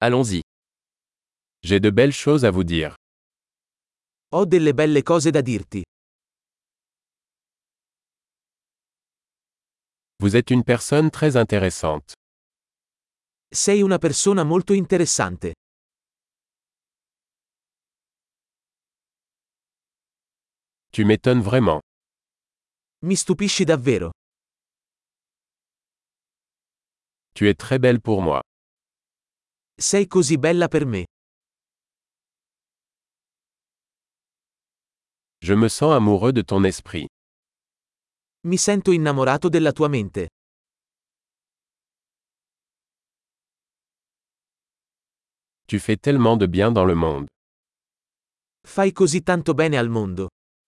Allons-y. J'ai de belles choses à vous dire. Ho delle belle cose da dirti. Vous êtes une personne très intéressante. Sei una persona molto interessante. Tu m'étonnes vraiment. Mi stupisci davvero. Tu es très belle pour moi. Sei così bella per me. Je me sens amoureux de ton esprit. Mi sento innamorato della tua mente. Tu fais tellement de bien dans le monde. Fai così tanto bene al mondo.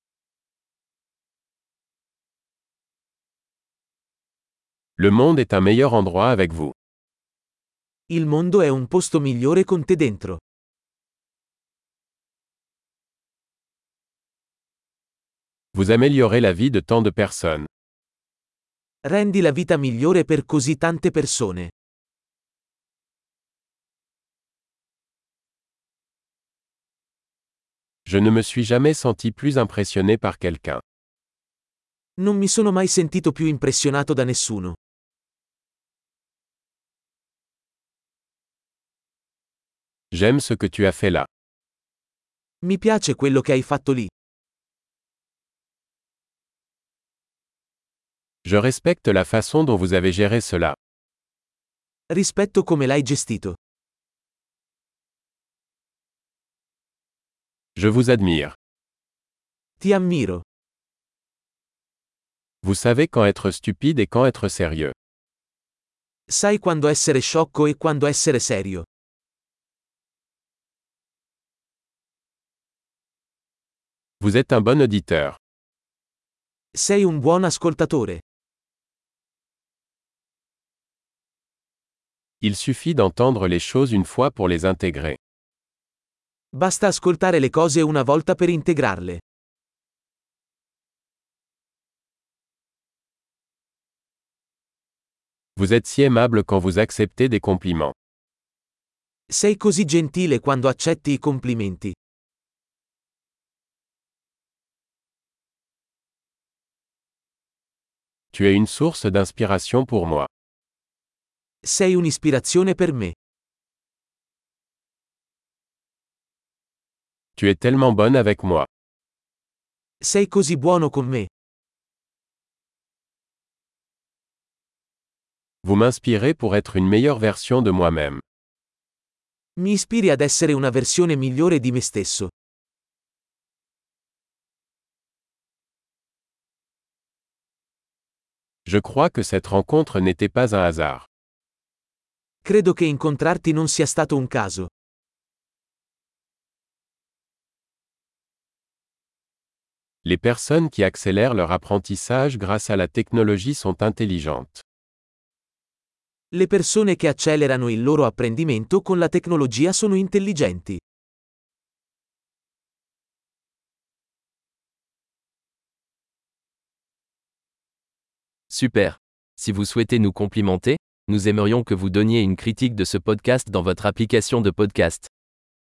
Le monde est un meilleur endroit avec vous. Il mondo è un posto migliore con te dentro. Vous améliorez la vie de tant de personnes. Rendi la vita migliore per così tante persone. Je ne me suis jamais senti plus impressionné par quelqu'un. Non mi sono mai sentito più impressionato da nessuno. J'aime ce que tu as fait là. Mi piace quello che hai fatto lì. Je respecte la façon dont vous avez géré cela. Rispetto come l'hai gestito. Je vous admire. Ti ammiro. Vous savez quand être stupide et quand être sérieux. Sai quando essere sciocco e quando essere serio. Vous êtes un bon auditeur. Sei un buon ascoltatore. Il suffit d'entendre les choses une fois pour les intégrer. Basta ascoltare le cose una volta per integrarle. Vous êtes si aimable quand vous acceptez des compliments. Sei così gentile quando accetti i complimenti. Tu es une source d'inspiration pour moi. Sei un'ispirazione per me. Tu es tellement bonne avec moi. Sei così buono con me. Vous m'inspirez pour être une meilleure version de moi-même. Mi ispiri ad essere una versione migliore di me stesso. Je crois que cette rencontre n'était pas un hasard. Credo che incontrarti non sia stato un caso. Les personnes qui accélèrent leur apprentissage grâce à la technologie sont intelligentes. Le persone che accelerano il loro apprendimento con la tecnologia sono intelligenti. Super. Si vous souhaitez nous complimenter, nous aimerions que vous donniez une critique de ce podcast dans votre application de podcast.